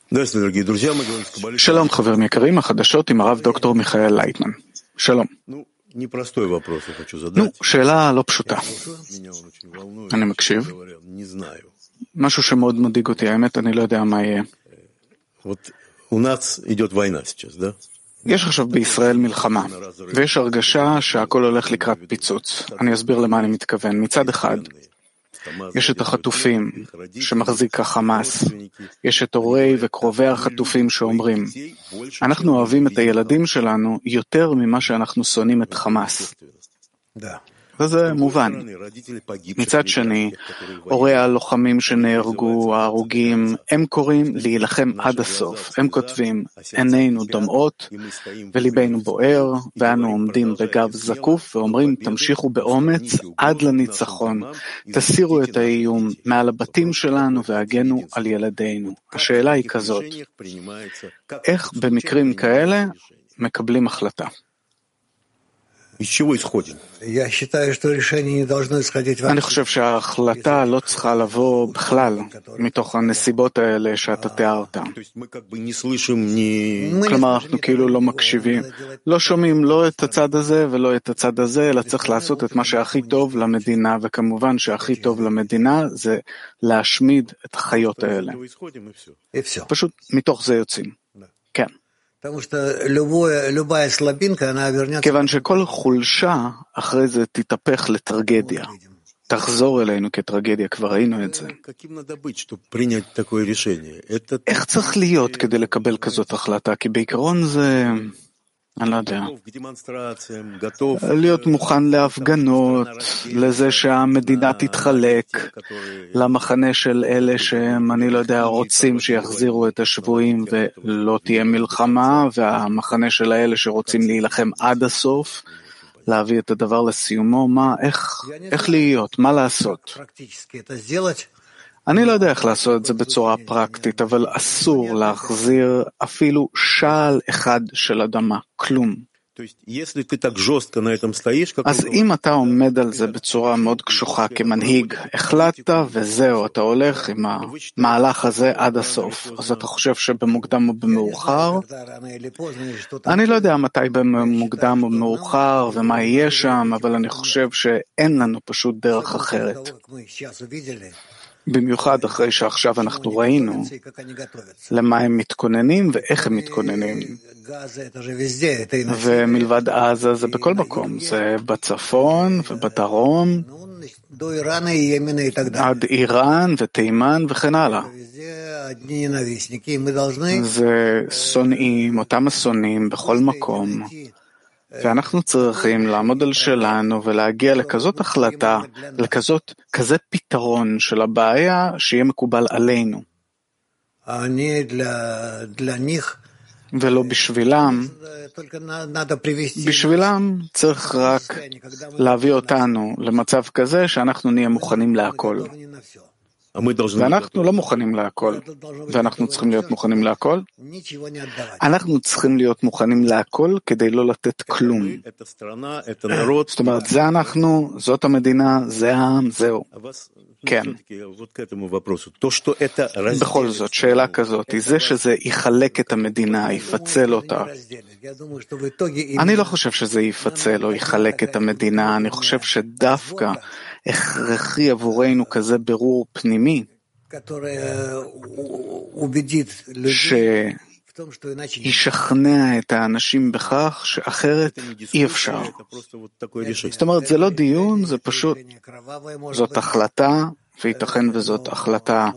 שלום חברים יקרים, החדשות עם הרב דוקטור מיכאל לייטמן. שלום. שאלה לא פשוטה. אני מקשיב. משהו שמאוד מדאיג אותי, האמת, אני לא יודע מה יהיה. יש עכשיו בישראל מלחמה, ויש הרגשה שהכל הולך לקראת פיצוץ. אני אסביר למה אני מתכוון. מצד אחד, יש את החטופים שמחזיק החמאס, יש את הורי וקרובי החטופים שאומרים, אנחנו אוהבים את הילדים שלנו יותר ממה שאנחנו שונאים את חמאס. וזה מובן. מצד שני, הורי הלוחמים שנהרגו, ההרוגים, הם קוראים להילחם עד הסוף. הם כותבים, עינינו דומעות וליבנו בוער, ואנו עומדים בגב זקוף ואומרים, תמשיכו באומץ עד לניצחון. תסירו את האיום מעל הבתים שלנו והגנו על ילדינו. השאלה היא כזאת, איך במקרים כאלה מקבלים החלטה? אני חושב שההחלטה לא צריכה לבוא בכלל מתוך הנסיבות האלה שאתה תיארת. כלומר, אנחנו כאילו לא מקשיבים, לא שומעים לא את הצד הזה ולא את הצד הזה, אלא צריך לעשות את מה שהכי טוב למדינה, וכמובן שהכי טוב למדינה זה להשמיד את החיות האלה. פשוט מתוך זה יוצאים. כן. כיוון שכל חולשה אחרי זה תתהפך לטרגדיה. תחזור אלינו כטרגדיה, כבר ראינו את זה. איך צריך להיות כדי לקבל כזאת החלטה? כי בעיקרון זה, אני לא יודע, להיות מוכן להפגנות, לזה שהמדינה תתחלק, למחנה של אלה שהם, אני לא יודע, רוצים שיחזירו את השבויים ולא תהיה מלחמה, והמחנה של אלה שרוצים להילחם עד הסוף, להביא את הדבר לסיומו, איך להיות, מה לעשות? אני לא יודע איך לעשות את זה בצורה פרקטית, אבל אסור להחזיר אפילו שעל אחד של אדמה, כלום. אז אם אתה עומד על זה בצורה מאוד קשוחה כמנהיג, החלטת וזהו, אתה הולך עם המהלך הזה עד הסוף. אז אתה חושב שבמוקדם או במאוחר? אני לא יודע מתי במוקדם או במאוחר ומה יהיה שם, אבל אני חושב שאין לנו פשוט דרך אחרת. במיוחד אחרי שעכשיו אנחנו ראינו למה הם מתכוננים ואיך הם מתכוננים. ומלבד עזה זה בכל מקום, זה בצפון ובדרום, עד איראן ותימן וכן הלאה. זה שונאים, אותם השונאים בכל מקום. ואנחנו צריכים לעמוד על שלנו ולהגיע לכזאת החלטה, כזה פתרון של הבעיה שיהיה מקובל עלינו. ולא בשבילם. בשבילם צריך רק להביא אותנו למצב כזה שאנחנו נהיה מוכנים להכל. ואנחנו לא מוכנים להכל, ואנחנו צריכים להיות מוכנים להכל. אנחנו צריכים להיות מוכנים להכל כדי לא לתת כלום. זאת אומרת, זה אנחנו, זאת המדינה, זה העם, זהו. כן. בכל זאת, שאלה כזאת, זה שזה יחלק את המדינה, יפצל אותה. אני לא חושב שזה יפצל או יחלק את המדינה, אני חושב שדווקא הכרחי עבורנו כזה ברור פנימי, שישכנע את האנשים בכך שאחרת אי אפשר. זאת אומרת, זה לא דיון, זה פשוט, זאת החלטה, וייתכן וזאת החלטה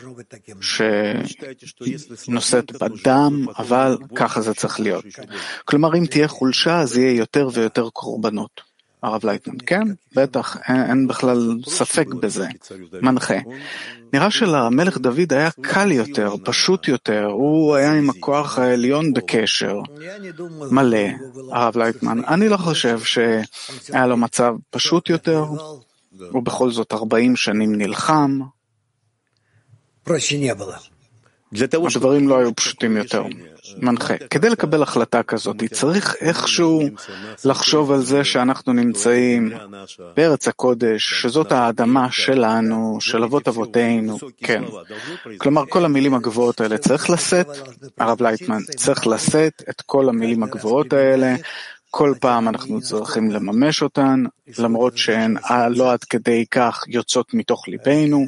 שנושאת בדם, אבל ככה זה צריך להיות. כלומר, אם תהיה חולשה, אז יהיה יותר ויותר קורבנות. הרב לייטמן, כן, בטח, אין בכלל ספק בזה, מנחה. נראה שלמלך דוד היה קל יותר, פשוט יותר, הוא היה עם הכוח העליון בקשר מלא, הרב לייטמן. אני לא חושב שהיה לו מצב פשוט יותר, הוא בכל זאת 40 שנים נלחם. הדברים לא היו פשוטים יותר. מנחה, כדי לקבל החלטה כזאת, צריך איכשהו לחשוב על זה שאנחנו נמצאים בארץ הקודש, שזאת האדמה שלנו, של אבות אבותינו, כן. כלומר, כל המילים הגבוהות האלה צריך לשאת, הרב לייטמן, צריך לשאת את כל המילים הגבוהות האלה, כל פעם אנחנו צריכים לממש אותן, למרות שהן לא עד כדי כך יוצאות מתוך ליבנו,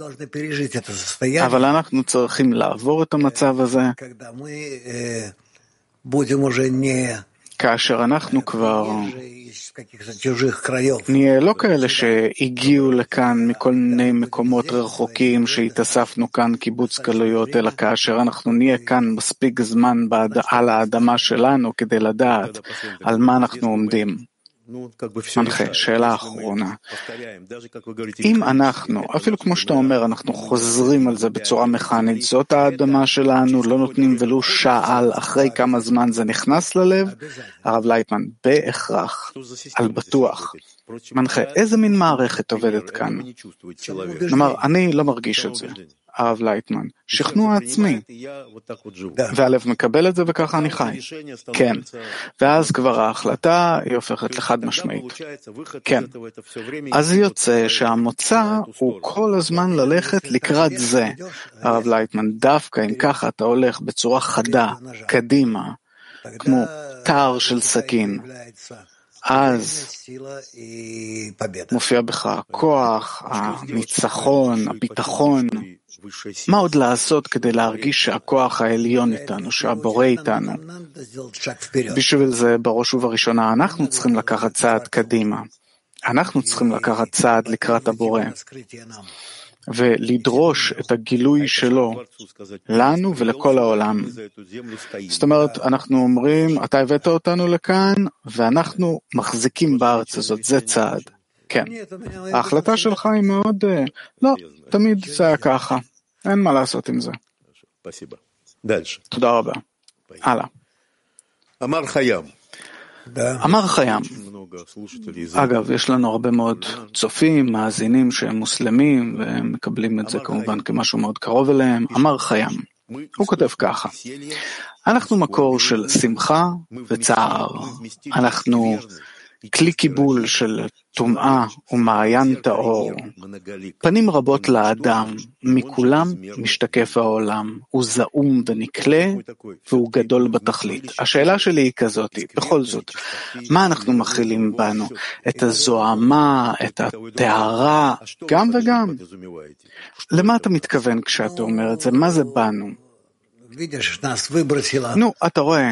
אבל אנחנו צריכים לעבור את המצב הזה, כאשר אנחנו כבר נהיה לא כאלה שהגיעו לכאן מכל מיני מקומות רחוקים שהתאספנו כאן קיבוץ גלויות, אלא כאשר אנחנו נהיה כאן מספיק זמן על האדמה שלנו כדי לדעת על מה אנחנו עומדים. מנחה, שאלה אחרונה. אם אנחנו, אפילו כמו שאתה אומר, אנחנו חוזרים על זה בצורה מכנית, זאת האדמה שלנו, לא נותנים ולו שעל, אחרי כמה זמן זה נכנס ללב, הרב לייטמן, בהכרח, על בטוח. מנחה, איזה מין מערכת עובדת כאן? כלומר, אני לא מרגיש את זה. הרב לייטמן, שכנוע עצמי, והלב מקבל את זה וככה אני חי. כן, ואז כבר ההחלטה היא הופכת לחד משמעית. כן, אז יוצא שהמוצא הוא כל הזמן ללכת לקראת זה. הרב לייטמן, דווקא אם ככה אתה הולך בצורה חדה, קדימה, כמו תער של סכין, אז מופיע בך הכוח, הניצחון, הביטחון. מה עוד לעשות כדי להרגיש שהכוח העליון איתנו, שהבורא איתנו? בשביל זה, בראש ובראשונה, אנחנו צריכים לקחת צעד קדימה. אנחנו צריכים לקחת צעד לקראת הבורא, ולדרוש את הגילוי שלו לנו ולכל העולם. זאת אומרת, אנחנו אומרים, אתה הבאת אותנו לכאן, ואנחנו מחזיקים בארץ הזאת, זה צעד. כן, ההחלטה שלך היא מאוד, לא, תמיד זה היה ככה, אין מה לעשות עם זה. תודה רבה. הלאה. אמר חיים. אגב, יש לנו הרבה מאוד צופים, מאזינים שהם מוסלמים, והם מקבלים את זה כמובן כמשהו מאוד קרוב אליהם. אמר חיים. הוא כותב ככה: אנחנו מקור של שמחה וצער. אנחנו כלי קיבול של טומאה ומעיין טהור. פנים רבות לאדם, מכולם משתקף העולם. הוא זעום ונקלה, והוא גדול בתכלית. השאלה שלי היא כזאת, בכל זאת, מה אנחנו מכילים בנו? את הזוהמה, את הטהרה, גם וגם. למה אתה מתכוון כשאתה אומר את זה? מה זה בנו? נו, אתה רואה,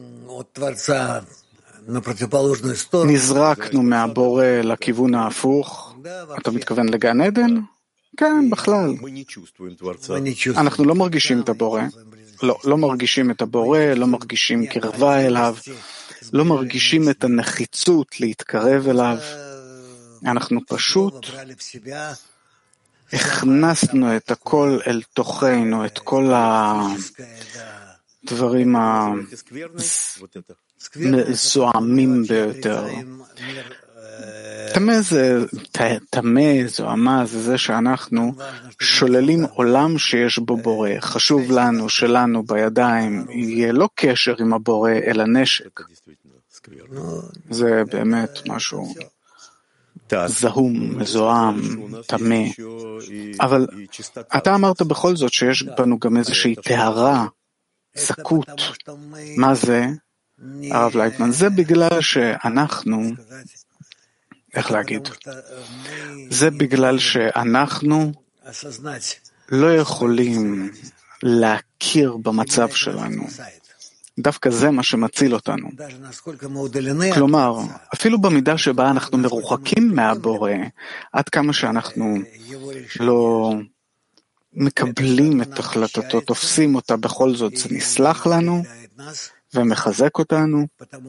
נזרקנו מהבורא לכיוון ההפוך. אתה מתכוון לגן עדן? כן, בכלל. אנחנו לא מרגישים את הבורא. לא מרגישים את הבורא, לא מרגישים קרבה אליו, לא מרגישים את הנחיצות להתקרב אליו. אנחנו פשוט הכנסנו את הכל אל תוכנו, את כל הדברים זוהמים ביותר. תמה, זוהמה, זה זה שאנחנו שוללים עולם שיש בו בורא. חשוב לנו, שלנו בידיים, יהיה לא קשר עם הבורא, אלא נשק. זה באמת משהו זהום, מזוהם, תמה. אבל אתה אמרת בכל זאת שיש בנו גם איזושהי טהרה, זכות. מה זה? הרב לייטמן, זה בגלל שאנחנו, איך להגיד? זה בגלל שאנחנו לא יכולים להכיר במצב שלנו. דווקא זה מה שמציל אותנו. כלומר, אפילו במידה שבה אנחנו מרוחקים מהבורא, עד כמה שאנחנו לא מקבלים את החלטתו, תופסים אותה, בכל זאת זה נסלח לנו ומחזק אותנו,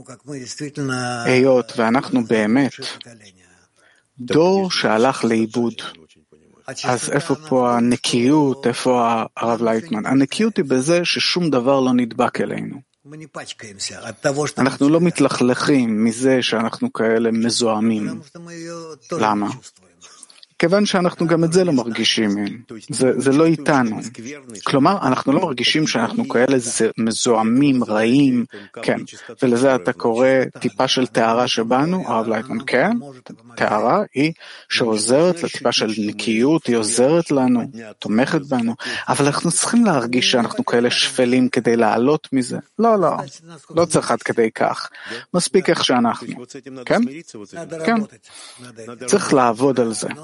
היות ואנחנו באמת דור שהלך לאיבוד. אז איפה פה הנקיות, איפה הרב לייטמן? הנקיות היא בזה ששום דבר לא נדבק אלינו. אנחנו לא מתלכלכים מזה שאנחנו כאלה מזוהמים. למה? כיוון שאנחנו גם את זה לא מרגישים, זה לא איתנו. כלומר, אנחנו לא מרגישים שאנחנו כאלה מזוהמים, רעים, כן. ולזה אתה קורא טיפה של טהרה שבנו, הרב לייטמן, כן, טהרה היא שעוזרת לטיפה של נקיות, היא עוזרת לנו, תומכת בנו, אבל אנחנו צריכים להרגיש שאנחנו כאלה שפלים כדי לעלות מזה. לא, לא, לא צריך עד כדי כך. מספיק איך שאנחנו. כן? כן. צריך לעבוד על זה.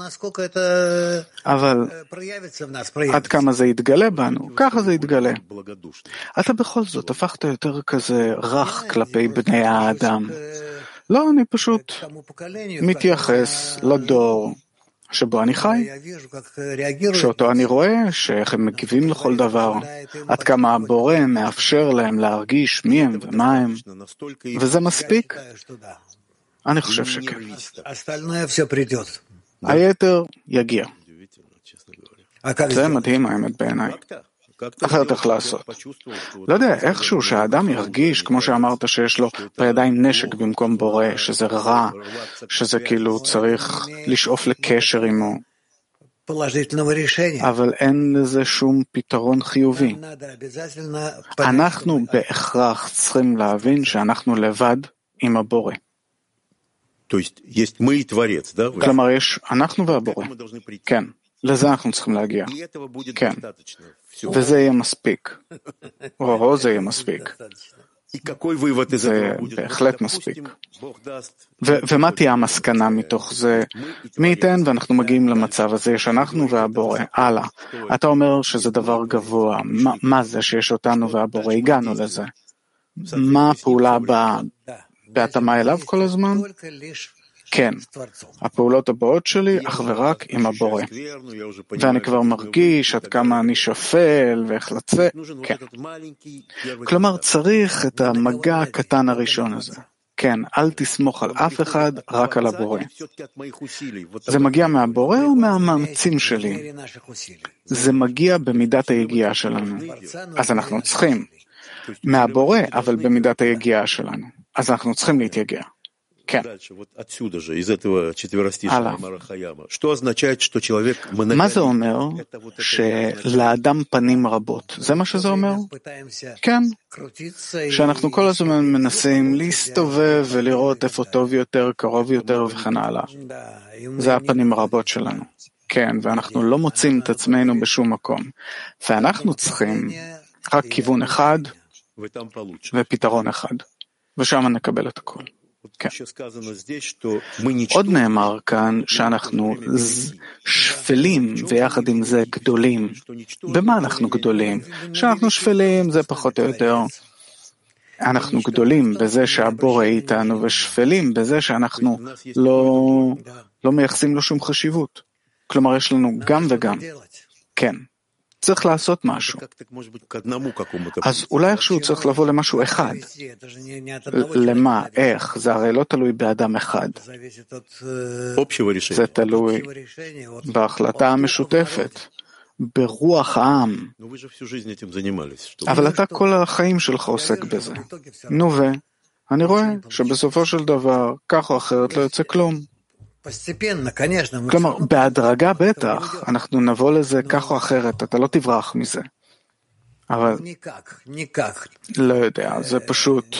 אבל עד כמה זה יתגלה בנו, ככה זה יתגלה. אתה בכל זאת הפכת יותר כזה רך כלפי בני האדם. לא, אני פשוט מתייחס לדור שבו אני חי, שאותו אני רואה, שאיך הם מגיבים לכל דבר, עד כמה הבורא מאפשר להם להרגיש מי הם ומה הם, וזה מספיק? אני חושב שכן. היתר יגיע. זה מדהים האמת בעיניי. אחרת איך לעשות. לא יודע, איכשהו שהאדם ירגיש, כמו שאמרת, שיש לו בידיים נשק במקום בורא, שזה רע, שזה כאילו צריך לשאוף לקשר עמו. אבל אין לזה שום פתרון חיובי. אנחנו בהכרח צריכים להבין שאנחנו לבד עם הבורא. כלומר, יש אנחנו והבורא. כן. לזה אנחנו צריכים להגיע. כן. וזה יהיה מספיק. או זה יהיה מספיק. זה בהחלט מספיק. ומה תהיה המסקנה מתוך זה? מי ייתן ואנחנו מגיעים למצב הזה שאנחנו והבורא. הלאה. אתה אומר שזה דבר גבוה. מה זה שיש אותנו והבורא? הגענו לזה. מה הפעולה הבאה? בהתאמה אליו כל הזמן? כן, הפעולות הבאות שלי אך ורק עם הבורא. ואני כבר מרגיש עד כמה אני שפל ואיך לצאת. כן. כלומר, צריך את המגע הקטן הראשון הזה. כן, אל תסמוך על אף אחד, רק על הבורא. זה מגיע מהבורא או מהמאמצים שלי? זה מגיע במידת היגיעה שלנו. אז אנחנו צריכים. מהבורא, אבל במידת היגיעה שלנו. אז אנחנו צריכים להתייגע. כן. הלאה. מה זה אומר? שלאדם פנים רבות. זה מה שזה אומר? כן. שאנחנו כל הזמן מנסים להסתובב ולראות איפה טוב יותר, קרוב יותר וכן הלאה. זה הפנים הרבות שלנו. כן, ואנחנו לא מוצאים את עצמנו בשום מקום. ואנחנו צריכים רק כיוון אחד ופתרון אחד. ושם נקבל את הכל. כן. עוד נאמר כאן שאנחנו שפלים ויחד עם זה גדולים. במה אנחנו גדולים? שאנחנו שפלים זה פחות או יותר. אנחנו גדולים בזה שהבורא איתנו ושפלים בזה שאנחנו לא מייחסים לו שום חשיבות. כלומר יש לנו גם וגם. כן. צריך לעשות משהו. אז אולי איכשהו צריך לבוא למשהו אחד. למה? איך? זה הרי לא תלוי באדם אחד. זה תלוי בהחלטה המשותפת, ברוח העם. אבל אתה כל החיים שלך עוסק בזה. נו אני רואה שבסופו של דבר, כך או אחרת לא יוצא כלום. כלומר, בהדרגה בטח, אנחנו נבוא לזה כך או אחרת, אתה לא תברח מזה. אבל לא יודע, זה פשוט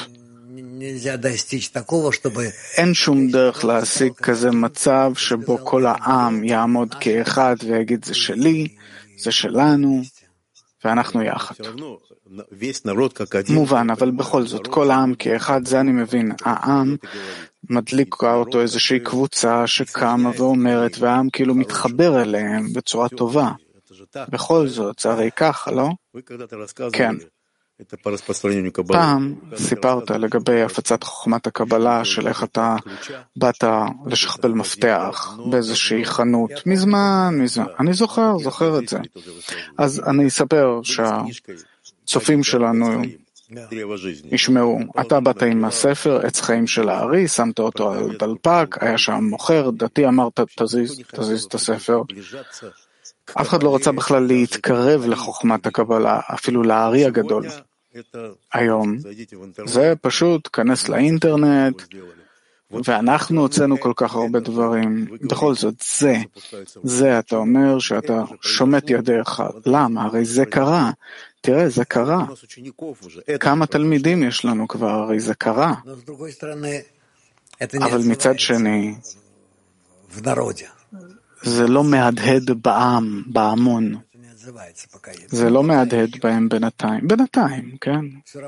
אין שום דרך להשיג כזה מצב שבו כל העם יעמוד כאחד ויגיד זה שלי, זה שלנו, ואנחנו יחד. מובן, אבל בכל זאת, כל העם כאחד, זה אני מבין, העם מדליקה אותו איזושהי קבוצה שקמה ואומרת, והעם כאילו מתחבר אליהם בצורה טובה. בכל זאת, זה הרי ככה, לא? כן. פעם סיפרת לגבי הפצת חוכמת הקבלה של איך אתה באת לשכפל מפתח באיזושהי חנות מזמן. אני זוכר את זה. אז אני אספר שהצופים שלנו ישמעו, אתה באת עם הספר עץ חיים של הארי, שמת אותו על דלפק, היה שם מוכר, דתי אמרת תזיז את הספר. אף אחד לא רצה בכלל להתקרב לחוכמת הקבלה, אפילו לארי הגדול. היום זה פשוט כנס לאינטרנט ואנחנו הוצאנו כל כך הרבה דברים. בכל זאת, זה אתה אומר שאתה שומט ידיך. למה? הרי זה קרה. תראה, זה קרה. כמה תלמידים יש לנו כבר, הרי זה קרה. אבל מצד שני, זה לא מהדהד בעם, בהמון. זה לא מהדהד בהם בינתיים, כן?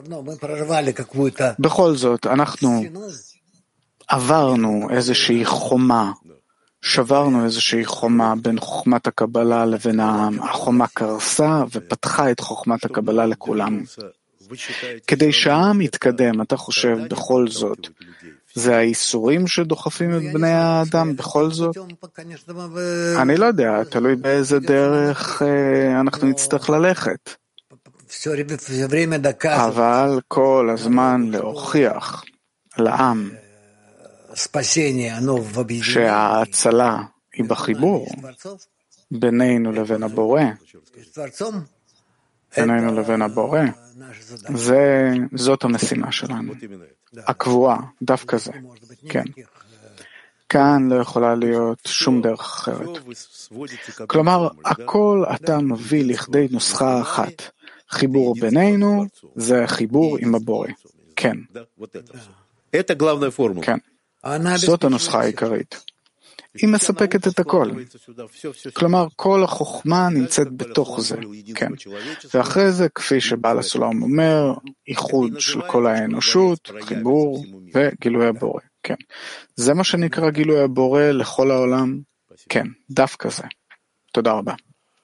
בכל זאת, אנחנו עברנו איזושהי חומה, שברנו איזושהי חומה בין חוכמת הקבלה לבין העם. החומה קרסה ופתחה את חוכמת הקבלה לכולם. כדי שהעם יתקדם, אתה חושב בכל זאת, זה האיסורים שדוחפים את בני האדם בכל זאת? אני לא יודע, תלוי באיזה דרך אנחנו נצטרך ללכת. אבל כל הזמן להוכיח לעם שההצלה היא בחיבור בינינו לבין הבורא. בינינו לבין הבורא. זאת המשימה שלנו. הקבועה, דווקא זה. כן. כאן לא יכולה להיות שום דרך אחרת. כלומר, הכל אתה מביא לכדי נוסחה אחת. חיבור בינינו זה חיבור עם הבורא. כן. כן. זאת הנוסחה העיקרית. היא מספקת את הכל. כלומר, כל החוכמה נמצאת בתוך זה. כן. ואחרי זה, כפי שבעל הסולם אומר, איחוד של כל האנושות, חיבור וגילוי הבורא. כן. זה מה שנקרא גילוי הבורא לכל העולם? כן, דווקא זה. תודה רבה.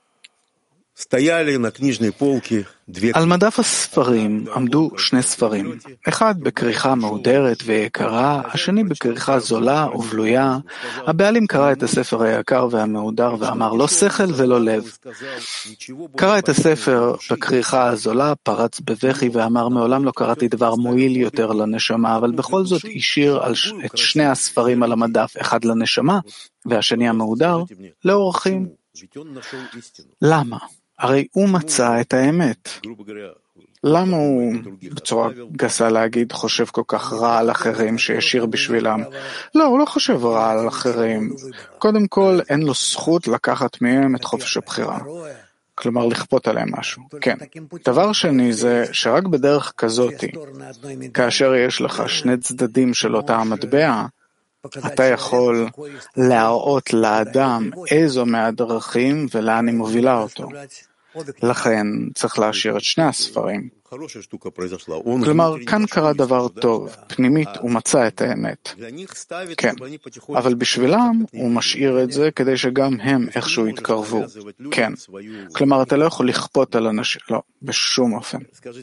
על מדף הספרים עמדו שני ספרים, אחד בכריכה מהודרת ויקרה, השני בכריכה זולה ובלויה. הבעלים קרא את הספר היקר והמהודר ואמר לא שכל ולא לב. קרא את הספר בכריכה הזולה, פרץ בבכי ואמר מעולם לא קראתי דבר מועיל יותר לנשמה, אבל בכל זאת השאיר את שני הספרים על המדף, אחד לנשמה והשני המהודר לאורחים. למה? הרי הוא מצא את האמת. למה הוא, בצורה גסה להגיד, חושב כל כך רע על אחרים שישיר בשבילם? לא, הוא לא חושב רע על אחרים. קודם כל, אין לו זכות לקחת מהם את חופש הבחירה. כלומר, לכפות עליהם משהו. כן. דבר שני זה שרק בדרך כזאת, כאשר יש לך שני צדדים של אותה המטבע, אתה יכול להראות לאדם איזו מהדרכים ולאן היא מובילה אותו. לכן צריך להשאיר את שני הספרים. כלומר, כאן קרה דבר טוב, פנימית הוא מצא את האמת. כן, אבל בשבילם הוא משאיר את זה כדי שגם הם איכשהו יתקרבו. כן, כלומר אתה לא יכול לכפות על אנשים, לא, בשום אופן.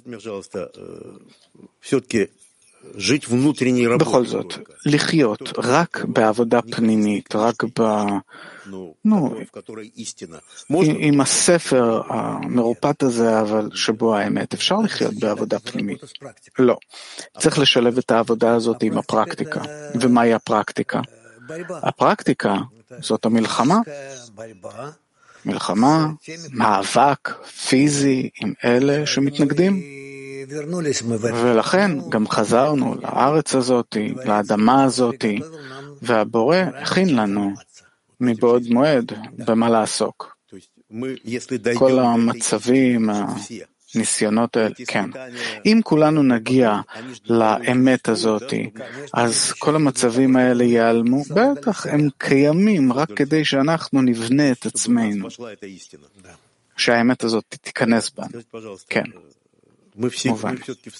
בכל זאת, לחיות רק בעבודה פנימית, רק עם הספר המרופט הזה, אבל שבו האמת, אפשר לחיות בעבודה פנימית. לא. צריך לשלב את העבודה הזאת עם הפרקטיקה. ומהי הפרקטיקה? הפרקטיקה זאת המלחמה. מלחמה, מאבק פיזי עם אלה שמתנגדים. ולכן גם חזרנו לארץ הזאת, לאדמה הזאת, והבורא הכין לנו מבעוד מועד במה לעסוק. כל המצבים, הניסיונות האלה, כן. אם כולנו נגיע לאמת הזאת, אז כל המצבים האלה ייעלמו, בטח הם קיימים רק כדי שאנחנו נבנה את עצמנו, שהאמת הזאת תיכנס בנו. כן. מובן.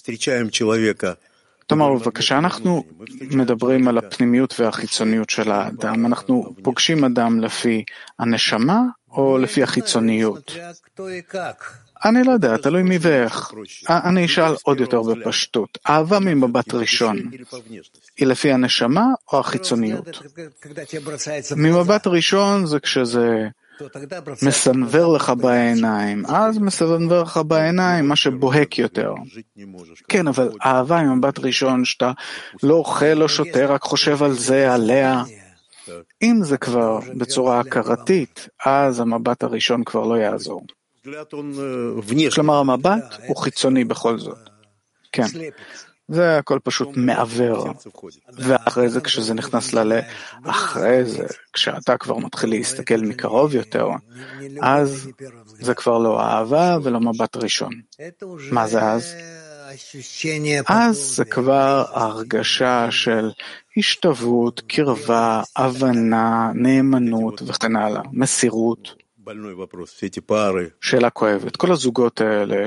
תאמר בבקשה, אנחנו מדברים על הפנימיות והחיצוניות של האדם. אנחנו פוגשים אדם לפי הנשמה או לפי החיצוניות? אני לא יודע, תלוי מי ואיך. אני אשאל עוד יותר בפשטות. אהבה ממבט ראשון היא לפי הנשמה או החיצוניות? ממבט ראשון זה כשזה מסנבר לך בעיניים, אז מסנבר לך בעיניים מה שבוהק יותר. כן, אבל אהבה עם מבט ראשון שאתה לא אוכל, לא שותה, רק חושב על זה, עליה. אם זה כבר בצורה הכרתית, אז המבט הראשון כבר לא יעזור. כלומר, המבט הוא חיצוני בכל זאת. כן. זה הכל פשוט מעבר. ואחרי זה, כשזה נכנס ללב, אחרי זה, כשאתה כבר מתחיל להסתכל מקרוב יותר, אז זה כבר לא אהבה ולא מבט ראשון. מה זה אז? אז זה כבר הרגשה של השתוות, קרבה, הבנה, נאמנות וכן הלאה, מסירות. שאלה כואבת. כל הזוגות האלה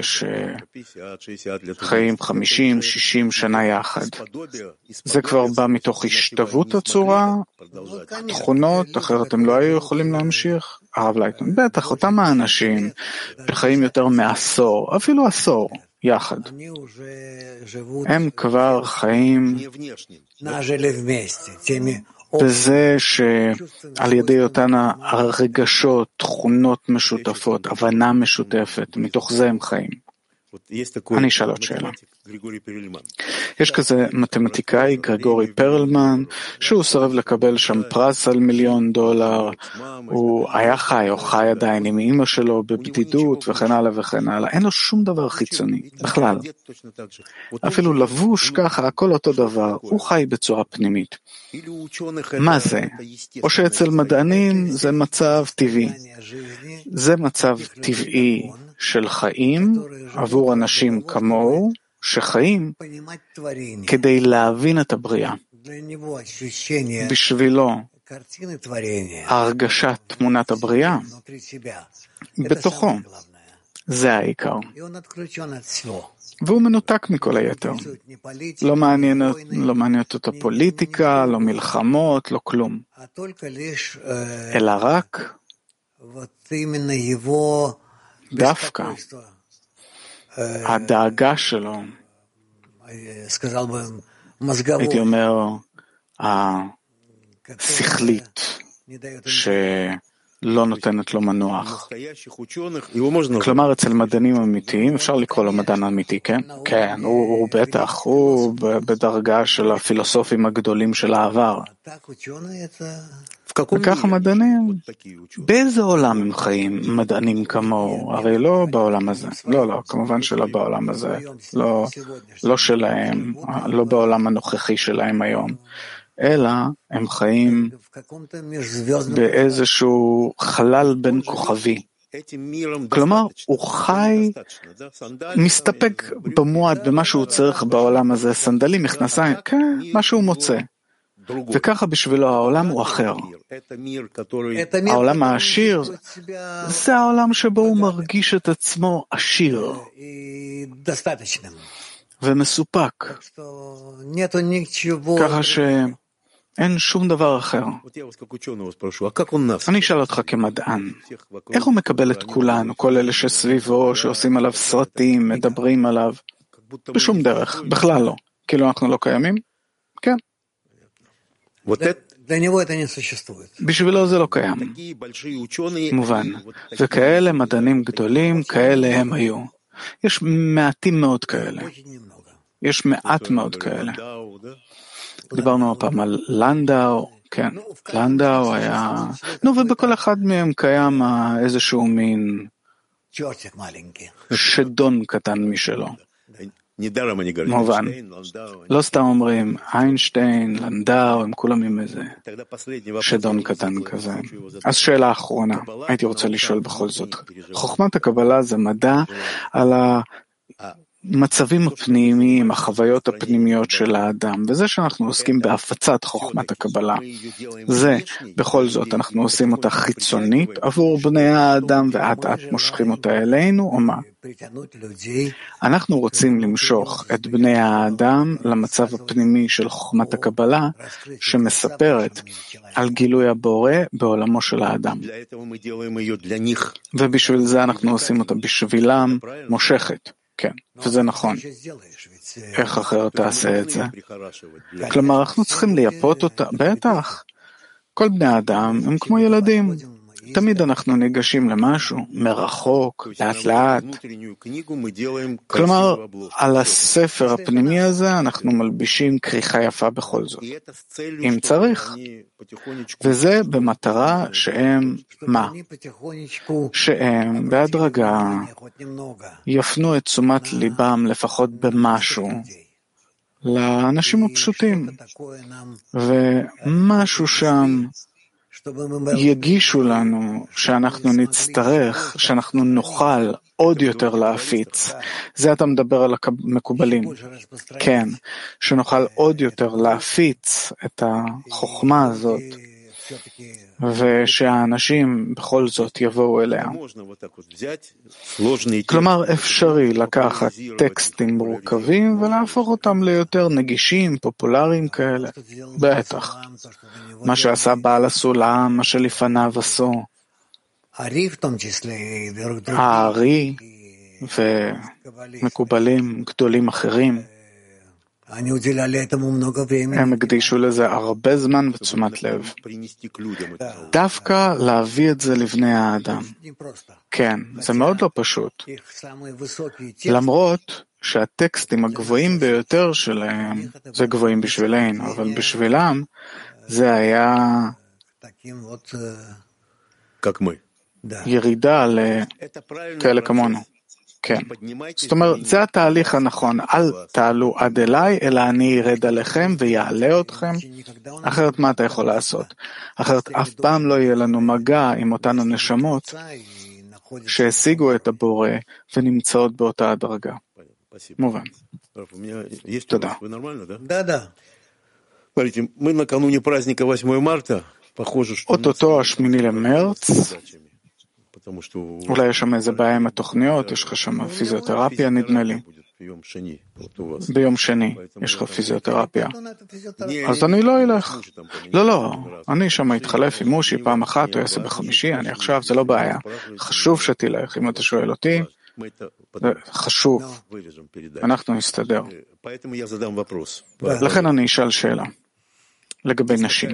שחיים 50-60 שנה יחד, זה כבר בא מתוך השתוות הצורה, תכונות, אחרת הם לא היו יכולים להמשיך. הרב לייטמן, בטח, אותם האנשים שחיים יותר מעשור, אפילו עשור, יחד. הם כבר חיים בזה שעל ידי אותן הרגשות, תכונות משותפות, הבנה משותפת, מתוך זה הם חיים. אני אשאל עוד שאלה. יש כזה מתמטיקאי, גרגורי פרלמן, שהוא סרב לקבל שם פרס על $1,000,000. הוא היה חי או חי עדיין עם אמא שלו בבדידות וכן הלאה וכן הלאה. אין לו שום דבר חיצוני, בכלל. אפילו לבוש ככה, הכל אותו דבר. הוא חי בצורה פנימית. מה זה? או שאצל מדענים זה מצב טבעי. זה מצב טבעי של חיים עבור אנשים כמוהו, שחיים כדי להבין את הבריאה. בשבילו, הרגשת תמונת הבריאה בתוכו, זה העיקר. והוא מנותק מכל היתר. לא מעניינת אותו פוליטיקה, לא מלחמות, לא כלום. אלא רק דווקא הדאגה שלו, הייתי אומר, השכלית, שלא נותנת לו מנוח. כלומר, אצל מדענים אמיתיים, אפשר לקרוא לו מדען אמיתי, כן? כן, הוא בטח, הוא בדרגה של הפילוסופים הגדולים של העבר. וככה מדענים, באיזה עולם הם חיים מדענים כמוהו? הרי לא בעולם הזה. לא, כמובן שלא בעולם הזה. לא שלהם, לא בעולם הנוכחי שלהם היום. אלא הם חיים באיזשהו חלל בין כוכבי. כלומר, הוא חי, מסתפק במועד במה שהוא צריך בעולם הזה, סנדלים, מכנסיים, כן, מה שהוא מוצא. וככה בשבילו העולם הוא אחר. העולם העשיר זה העולם שבו הוא מרגיש את עצמו עשיר ומסופק. ככה שאין שום דבר אחר. אני אשאל אותך כמדען, איך הוא מקבל את כולנו, כל אלה שסביבו, שעושים עליו סרטים, מדברים עליו? בשום דרך, בכלל לא. כאילו אנחנו לא קיימים? כן. בשבילו זה לא קיים. מובן. וכאלה מדענים גדולים, כאלה הם היו. יש מעטים מאוד כאלה. יש מעט מאוד כאלה. דיברנו הפעם על לנדאו, כן, לנדאו היה, ובכל אחד מהם קיים איזשהו מין שדון קטן משלו. מובן. לא סתם אומרים, איינשטיין, לנדאו, הם כולם עם איזה שדון קטן כזה. אז שאלה אחרונה, הייתי רוצה לשאול בכל זאת. חוכמת הקבלה זה מדע על המצבים הפנימיים, החוויות הפנימיות של האדם, וזה שאנחנו עוסקים בהפצת חוכמת הקבלה. זה, בכל זאת, אנחנו עושים אותה חיצונית עבור בני האדם, ועד מושכים אותה אלינו, או מה? אנחנו רוצים למשוך את בני האדם למצב הפנימי של חוכמת הקבלה, שמספרת על גילוי הבורא בעולמו של האדם. ובשביל זה אנחנו עושים אותה בשבילם מושכת. כן, וזה נכון. איך אחרת תעשה את זה? כלומר, אנחנו צריכים לייפות אותה, בטח. כל בני האדם הם כמו ילדים. תמיד אנחנו ניגשים למשהו, מרחוק, לאט לאט. כלומר, על הספר הפנימי הזה אנחנו מלבישים כריכה יפה בכל זאת. אם צריך. וזה במטרה שהם, מה? שהם בהדרגה יפנו את תשומת ליבם לפחות במשהו לאנשים הפשוטים, ומשהו שם יגישו לנו שאנחנו נצטרך, שאנחנו נוכל עוד יותר להפיץ. זה אתה מדבר על המקובלים. כן, שנוכל עוד יותר להפיץ את החוכמה הזאת, ושהאנשים בכל זאת יבואו אליה. כלומר, אפשרי לקחת טקסטים מורכבים ולהפוך אותם ליותר נגישים, פופולריים כאלה. בטח. מה שעשה בעל הסולם, מה שלפניו עשו. הארי ומקובלים גדולים אחרים. הם הקדישו לזה הרבה זמן ותשומת לב. דווקא להביא את זה לבני האדם. כן, זה מאוד לא פשוט. למרות שהטקסטים הגבוהים ביותר שלהם, זה גבוהים בשבילנו, אבל בשבילם זה היה ירידה לכאלה כמונו. כן. זאת אומרת, זה התהליך הנכון. אל תעלו עד אליי, אלא אני ירד עליכם ויעלה אתכם. אחרת מה אתה יכול לעשות? אחרת אף פעם לא יהיה לנו מגע עם אותן הנשמות שהשיגו את הבורא ונמצאות באותה הדרגה. מובן. תודה. אותו 8 למרץ, אולי יש שם איזה בעיה עם התוכניות, יש לך שם פיזיותרפיה נדמה לי. ביום שני יש לך פיזיותרפיה. אז אני לא אלך. לא, אני שם התחלף עם מושי פעם אחת, הוא יעשה בחמישי, אני עכשיו, זה לא בעיה. חשוב שתלך, אם אתה שואל אותי, חשוב. אנחנו נסתדר. לכן אני אשאל שאלה. לגבי נשים.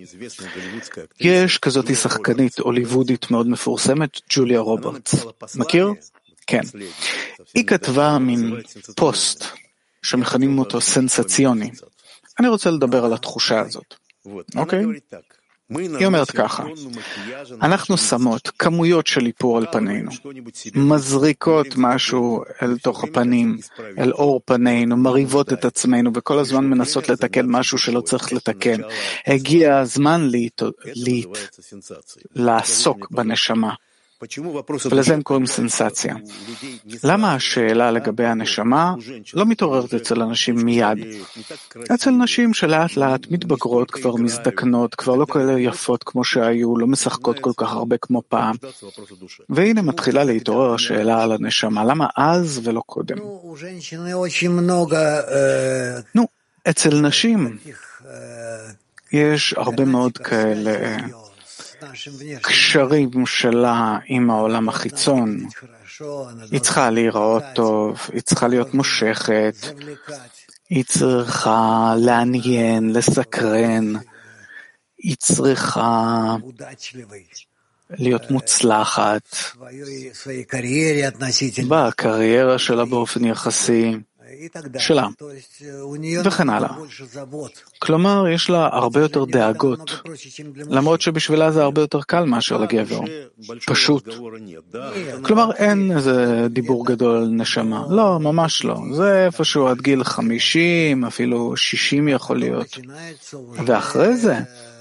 יש כזאת שחקנית הוליוודית מאוד מפורסמת, ג'וליה רוברטס. מכיר? כן. היא כתבה מין פוסט שמכנים אותו סנסציוני. אני רוצה לדבר על התחושה הזאת. אוקיי? היא אומרת ככה, אנחנו שמות כמויות של איפור על פנינו, מזריקות משהו אל תוך הפנים, אל אור פנינו, מריבות את עצמנו, וכל הזמן מנסות לתקן משהו שלא צריך לתקן. הגיע הזמן לעסוק בנשמה. ולזה הם קוראים סנסציה. למה השאלה לגבי הנשמה לא מתעוררת אצל אנשים מיד? אצל נשים שלאט לאט מתבגרות, כבר מזדקנות, כבר לא כאלה יפות כמו שהיו, לא משחקות כל כך הרבה כמו פעם. והנה מתחילה להתעורר השאלה על הנשמה. למה אז ולא קודם? אצל נשים יש הרבה מאוד כאלה קשרים שלה עם העולם החיצון. היא צריכה להיראות טוב, היא צריכה להיות מושכת, היא צריכה לעניין, לסקרן, היא צריכה להיות מוצלחת בקריירה שלה באופן יחסי שלה, וכן הלאה. כלומר, יש לה הרבה יותר דאגות, למרות שבשבילה זה הרבה יותר קל מאשר לגבר. פשוט. כלומר, אין איזה דיבור גדול על נשמה. לא, ממש לא. זה איפשהו עד גיל 50, אפילו 60 יכול להיות. ואחרי זה,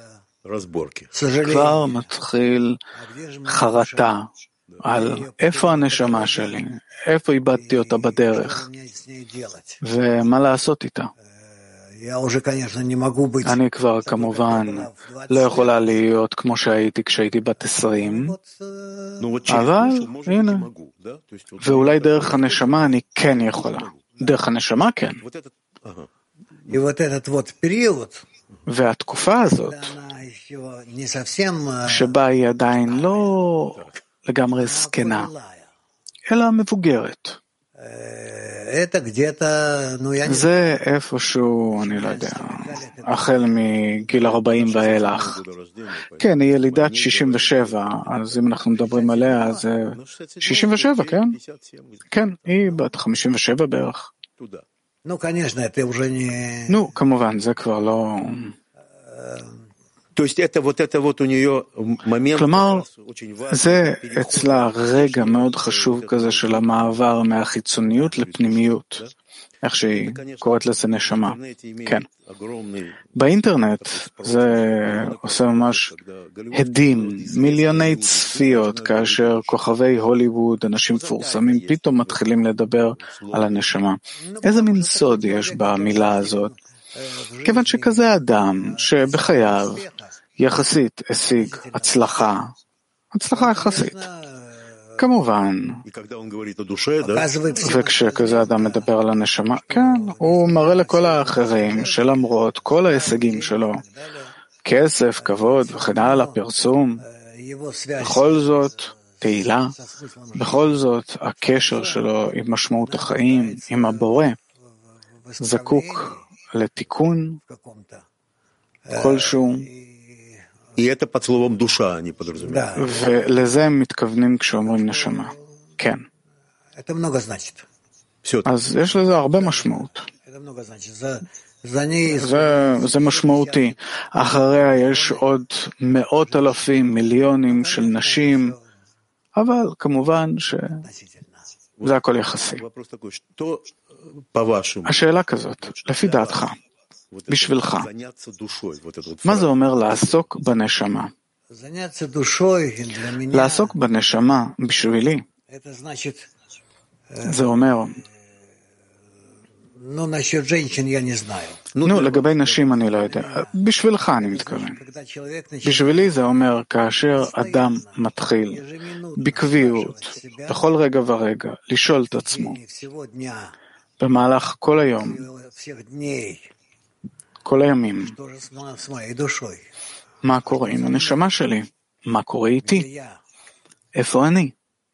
כבר מתחיל חרטה על איפה הנשמה שלי, איפה איבדתי אותה בדרך, ומה לעשות איתה. אני כבר כמובן לא יכולה להיות כמו שהייתי כשהייתי בת 20, אבל הנה, ואולי דרך הנשמה אני כן יכולה. דרך הנשמה כן. והתקופה הזאת, שבה היא עדיין לא לגמרי זקנה, אלא מבוגרת. זה איפשהו, אני לא יודע, החל מגיל 40 ואילך. כן, היא ילידת 67, אז אם אנחנו מדברים עליה, זה 67, כן? כן, היא בת 57 בערך. כמובן, זה כבר לא... כלומר, זה אצלה רגע מאוד חשוב כזה של המעבר מהחיצוניות לפנימיות. איך שהיא קוראת לזה נשמה. כן. באינטרנט זה עושה ממש הדים, מיליוני צפיות, כאשר כוכבי הוליווד, אנשים מפורסמים, פתאום מתחילים לדבר על הנשמה. איזה מין סוד יש במילה הזאת? כיוון שכזה אדם שבחייו יחסית השיג הצלחה יחסית. כמובן, וכשכזה אדם מדבר על הנשמה, כן, הוא מראה לכל האחרים שלמרות כל ההישגים שלו, כסף, כבוד וכן הלאה, פרסום, בכל זאת, תהילה, בכל זאת, הקשר שלו עם משמעות החיים, עם הבורא, זקוק לתיקון כלשהו, ולזה הם מתכוונים כשאומרים נשמה. כן. אז יש לזה הרבה משמעות. זה משמעותי. אחריה יש עוד מאות אלפים, מיליונים של נשים, אבל כמובן שזה הכל יחסי. השאלה כזאת, לפי דעתך, בשבילך, מה זה אומר לעסוק בנשמה? לעסוק בנשמה בשבילי, זה אומר, לגבי נשים אני לא יודע, בשבילך אני מתכוון. בשבילי זה אומר כאשר אדם מתחיל בקביעות, בכל רגע ורגע, לשאול את עצמו, במהלך כל היום, כל הימים, מה קורה עם הנשמה שלי? מה קורה איתי? איפה אני?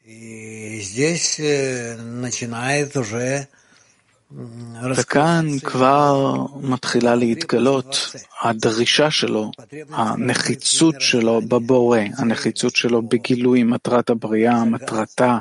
וכאן כבר מתחילה להתגלות הדרישה שלו, הנחיצות שלו בבורא, הנחיצות שלו בגילוי מטרת הבריאה, מטרתה,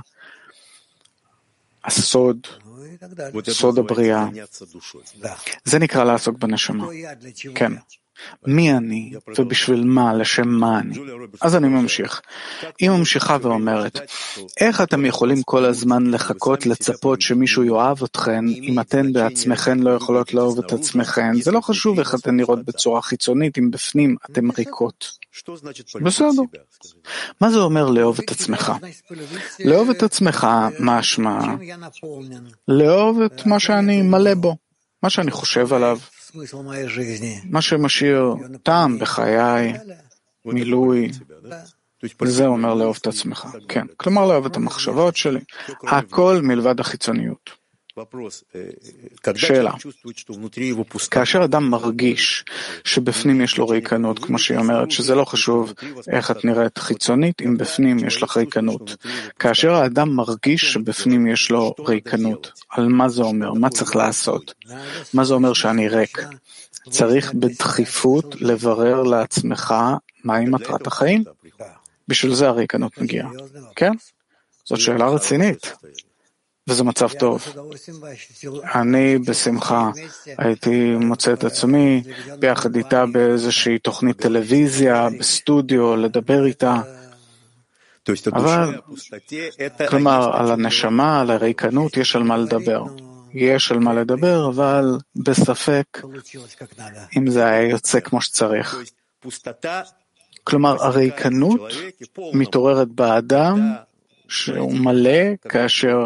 הסוד, סוד הבריאה. זה נקרא לעסוק בנשמה. כן. מי אני ובשביל מה, לשם מה אני. אז אני ממשיך. היא ממשיכה ואומרת, איך אתם יכולים כל הזמן לחכות, לצפות שמישהו יאהב אתכן, אם אתן בעצמכן לא יכולות לאהוב את עצמכן? זה לא חשוב איך אתן נראות בצורה חיצונית, אם בפנים אתן ריקות. בסדר. מה זה אומר לאהוב את עצמך? לאהוב את עצמך, משמע, לאהוב את מה שאני מלא בו, מה שאני חושב עליו, מה שמשאיר טעם בחיי, מילוי, זה אומר לאהוב את עצמך. כן, כלומר לאהוב את המחשבות שלי, הכל מלבד החיצוניות. שאלה, כאשר אדם מרגיש שבפנים יש לו ריקנות, כמו שהיא אומרת, שזה לא חשוב איך את נראית חיצונית, אם בפנים יש לך ריקנות. כאשר האדם מרגיש שבפנים יש לו ריקנות, על מה זה אומר? מה צריך לעשות? מה זה אומר שאני ריק? צריך בדחיפות לברר לעצמך מהי מטרת החיים. בשביל זה הריקנות מגיעה. כן? זאת שאלה רצינית. וזה מצב טוב. אני בשמחה הייתי מוצא את עצמי ביחד איתה באיזושהי תוכנית טלוויזיה, בסטודיו, לדבר איתה. אבל, כלומר, על הנשמה, על הריקנות, יש על מה לדבר. יש על מה לדבר, אבל בספק אם זה היה יוצא כמו שצריך. כלומר, הריקנות מתעוררת באדם שהוא מלא כאשר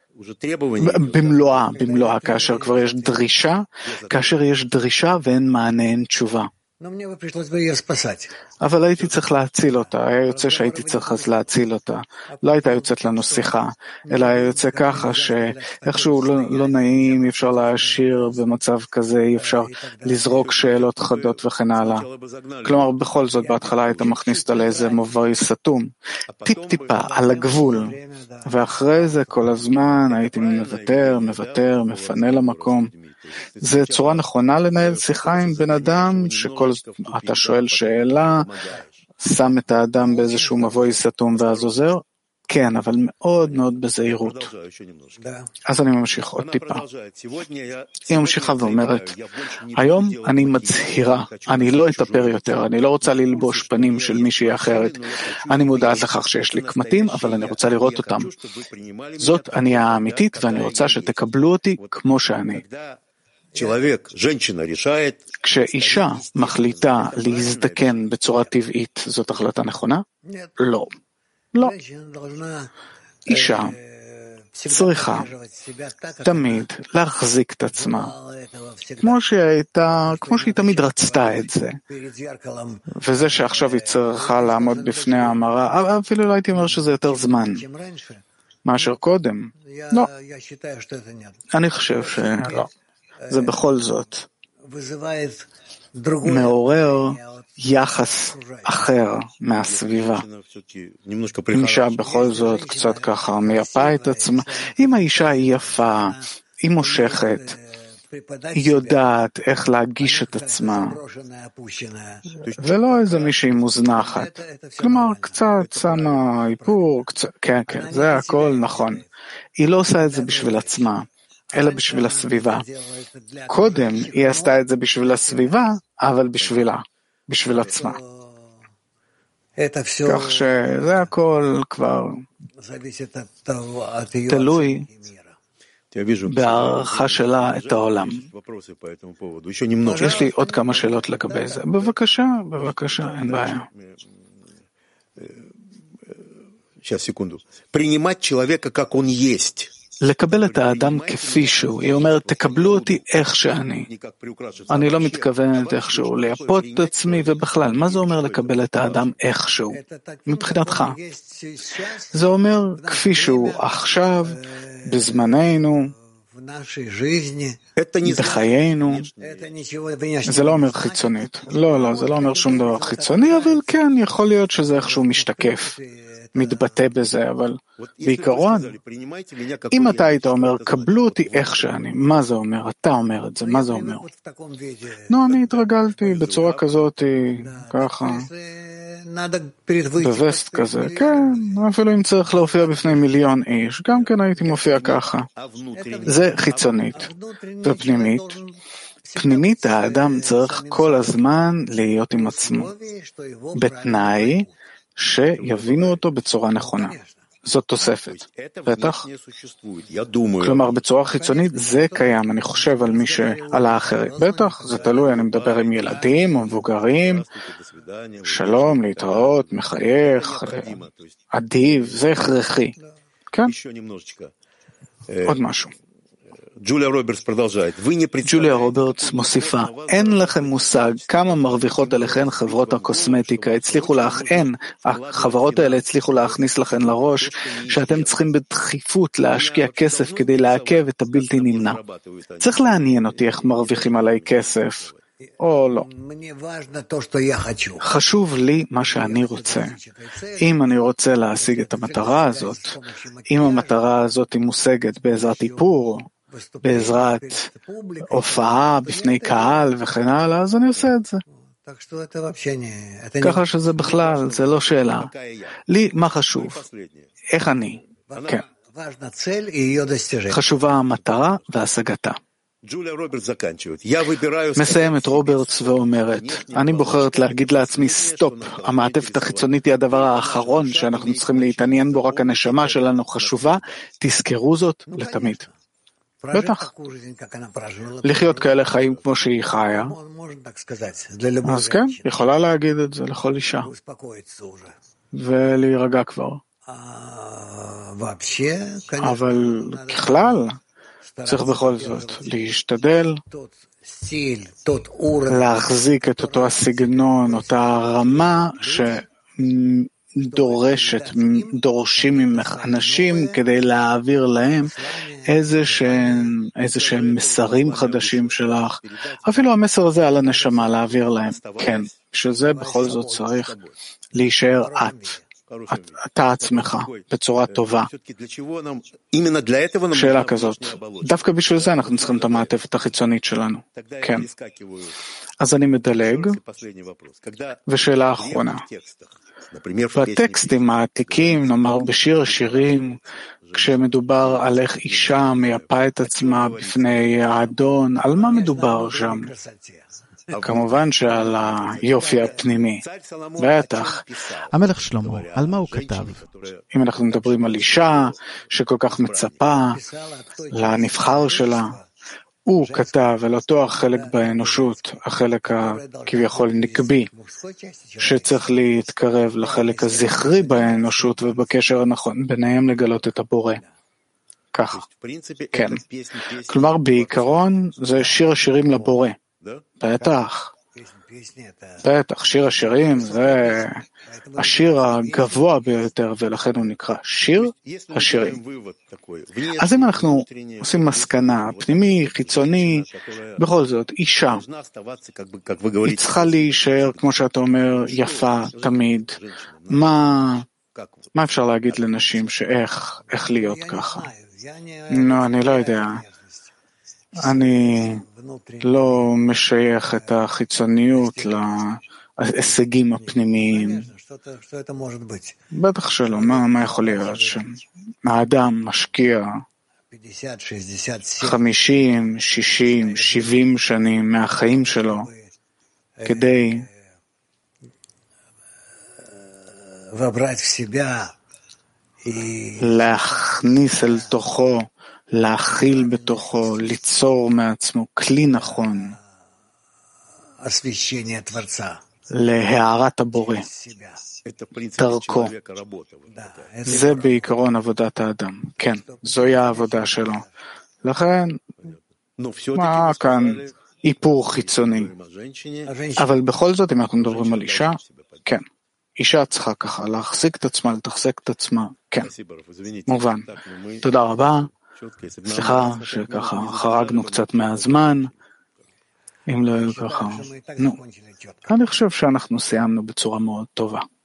במלואה, כאשר כבר יש דרישה, ואין מענה, אין תשובה. אבל הייתי צריך להציל אותה, היה יוצא שהייתי צריך אז להציל אותה. לא הייתה יוצאת לנו שיחה, אלא היה יוצא ככה שאיכשהו לא נעים, אי אפשר להשאיר במצב כזה, אי אפשר לזרוק שאלות חדות וכן הלאה. כלומר, בכל זאת, בהתחלה היית מכניס אותה לאיזה מבוי סתום, טיפ-טיפה, על הגבול. ואחרי זה כל הזמן הייתי מוותר, מפנה למקום. זה צורה נכונה לנהל שיחה עם בן אדם, אתה שואל שאלה, שם את האדם באיזשהו מבוי סתום ואז עוזר? כן, אבל מאוד מאוד בזהירות. אז אני ממשיך עוד טיפה. היא ממשיכה ואומרת, היום אני מצהירה, אני לא אתאפר יותר, אני לא רוצה ללבוש פנים של מישהי אחרת. אני מודעת לכך שיש לי קמטים, אבל אני רוצה לראות אותם. זאת אני האמיתית, ואני רוצה שתקבלו אותי כמו שאני. כשאישה מחליטה להזדקן בצורה טבעית, זאת החלטה נכונה? לא. לא. אישה צריכה תמיד להחזיק את עצמה, כמו שהיא תמיד רצתה את זה. וזה שעכשיו היא צריכה לעמוד בפני המראה, אפילו לא הייתי אומר שזה יותר זמן מאשר קודם. לא. אני חושב שלא. זה בכל זאת מעורר יחס אחר מהסביבה. אם אישה בכל זאת קצת ככה מייפה את עצמה, אם האישה היא יפה, היא מושכת, היא יודעת איך להגיש את עצמה, ולא איזה מישהי מוזנחת. כלומר, קצת שמה איפור, כן, זה הכל נכון. היא לא עושה את זה בשביל עצמה, אלא בשביל הסביבה. קודם היא עשתה את זה בשביל הסביבה, אבל בשביל עצמה. כך שזה הכל כבר תלוי בהערכה שלה את העולם. יש לי עוד כמה שאלות לגבי זה. בבקשה, אין בעיה. לקבל את האדם כפי שהוא. היא אומרת, תקבלו אותי איך שאני. אני לא מתכוונת איכשהו לייפות את עצמי, ובכלל, מה זה אומר לקבל את האדם איכשהו? מבחינתך. זה אומר כפי שהוא עכשיו, בזמננו, בחיינו. זה לא אומר חיצונית. לא, זה לא אומר שום דבר חיצוני, אבל כן, יכול להיות שזה איכשהו משתקף. מתבטא בזה, אבל בעיקרון, אם אתה היית אומר, קבלו אותי איך שאני, מה זה אומר? אתה אומר את זה, מה זה אומר? לא, אני התרגלתי בצורה כזאת, ככה, בווסט כזה, כן, אפילו אם צריך להופיע בפני 1,000,000 איש, גם כן הייתי מופיע ככה. זה חיצונית. ופנימית, פנימית האדם צריך כל הזמן להיות עם עצמו, בתנאי, שיבינו אותו בצורה נכונה. זאת תוספת. בטח? כלומר, בצורה חיצונית זה קיים. אני חושב על האחרים. בטח, זה תלוי. אני מדבר עם ילדים או מבוגרים. שלום, להתראות, מחייך, אדיב, זה הכרחי. כן? עוד משהו. ג'וליה רוברטס מוסיפה, אין לכם מושג כמה מרוויחות עליכן חברות הקוסמטיקה, החברות האלה הצליחו להכניס לכן לראש שאתם צריכים בדחיפות להשקיע כסף כדי לעכב את הבלתי נמנע. צריך לעניין אותי איך מרוויחים עליי כסף, או לא. חשוב לי מה שאני רוצה. אם אני רוצה להשיג את המטרה הזאת, אם המטרה הזאת היא מושגת בעזרת איפור, בעזרת הופעה בפני קהל וכן הלאה, אז אני עושה את זה. ככה שזה בכלל, זה לא שאלה. לי מה חשוב? איך אני? כן. חשובה המטרה והשגתה. מסיימת רוברטס ואומרת, אני בוחרת להגיד לעצמי סטופ, המעטפת החיצונית היא הדבר האחרון שאנחנו צריכים להתעניין בו, רק הנשמה שלנו חשובה, תזכרו זאת לתמיד. בטח. לחיות כאלה חיים כמו שהיא חיה. אז כן, יכולה להגיד את זה לכל אישה. ולהירגע כבר. אבל ככלל, צריך בכל זאת להשתדל להחזיק את אותו הסגנון, אותה רמה דורשים ממך אנשים כדי להעביר להם איזה שהם מסרים חדשים שלך, אפילו המסר הזה על הנשמה להעביר להם, כן, שזה בכל זאת צריך להישאר את, אתה עצמך בצורה טובה. שאלה כזאת, דווקא בשביל זה אנחנו צריכים את המעטפת החיצונית שלנו. כן. אז אני מדלג, ושאלה אחרונה. בטקסטים העתיקים, נאמר בשיר השירים, כשמדובר על איך אישה מייפה את עצמה בפני האדון, על מה מדובר שם? כמובן שעל היופי הפנימי. בטח. המלך שלמה, על מה הוא כתב? אם אנחנו מדברים על אישה שכל כך מצפה לנבחר שלה, הוא כתב על אותו החלק באנושות, החלק הכביכול נקבי, שצריך להתקרב לחלק הזכרי באנושות ובקשר הנכון ביניהם לגלות את הבורא. ככה. כן. כלומר, בעיקרון זה שיר השירים לבורא. בטח. בטח, שיר השירים זה השיר הגבוה ביותר, ולכן הוא נקרא שיר השירים. אז אם אנחנו עושים מסקנה, פנימי, חיצוני, בכל זאת, אישה, היא צריכה להישאר, כמו שאתה אומר, יפה תמיד. מה אפשר להגיד לנשים שאיך להיות ככה? לא, אני לא יודע. אני לא משייך את החיצוניות להישגים הפנימיים. בטח שלא, מה יכול להיות שם? האדם משקיע 50, 60, 70 שנים מהחיים שלו כדי להכניס אל תוכו, להכיל בתוכו, ליצור מעצמו כלי נכון להארת הבורא, דרכו. זה בעיקרון עבודת האדם. כן, זוהי העבודה שלו. לכן, מה כאן איפור חיצוני? אבל בכל זאת, אם אנחנו מדברים על אישה, כן. אישה צריכה ככה להחזיק את עצמה, לתחזק את עצמה. כן, מובן. תודה רבה. סליחה שככה חרגנו קצת מהזמן, אם לא ככה, אני חושב שאנחנו סיימנו בצורה מאוד טובה.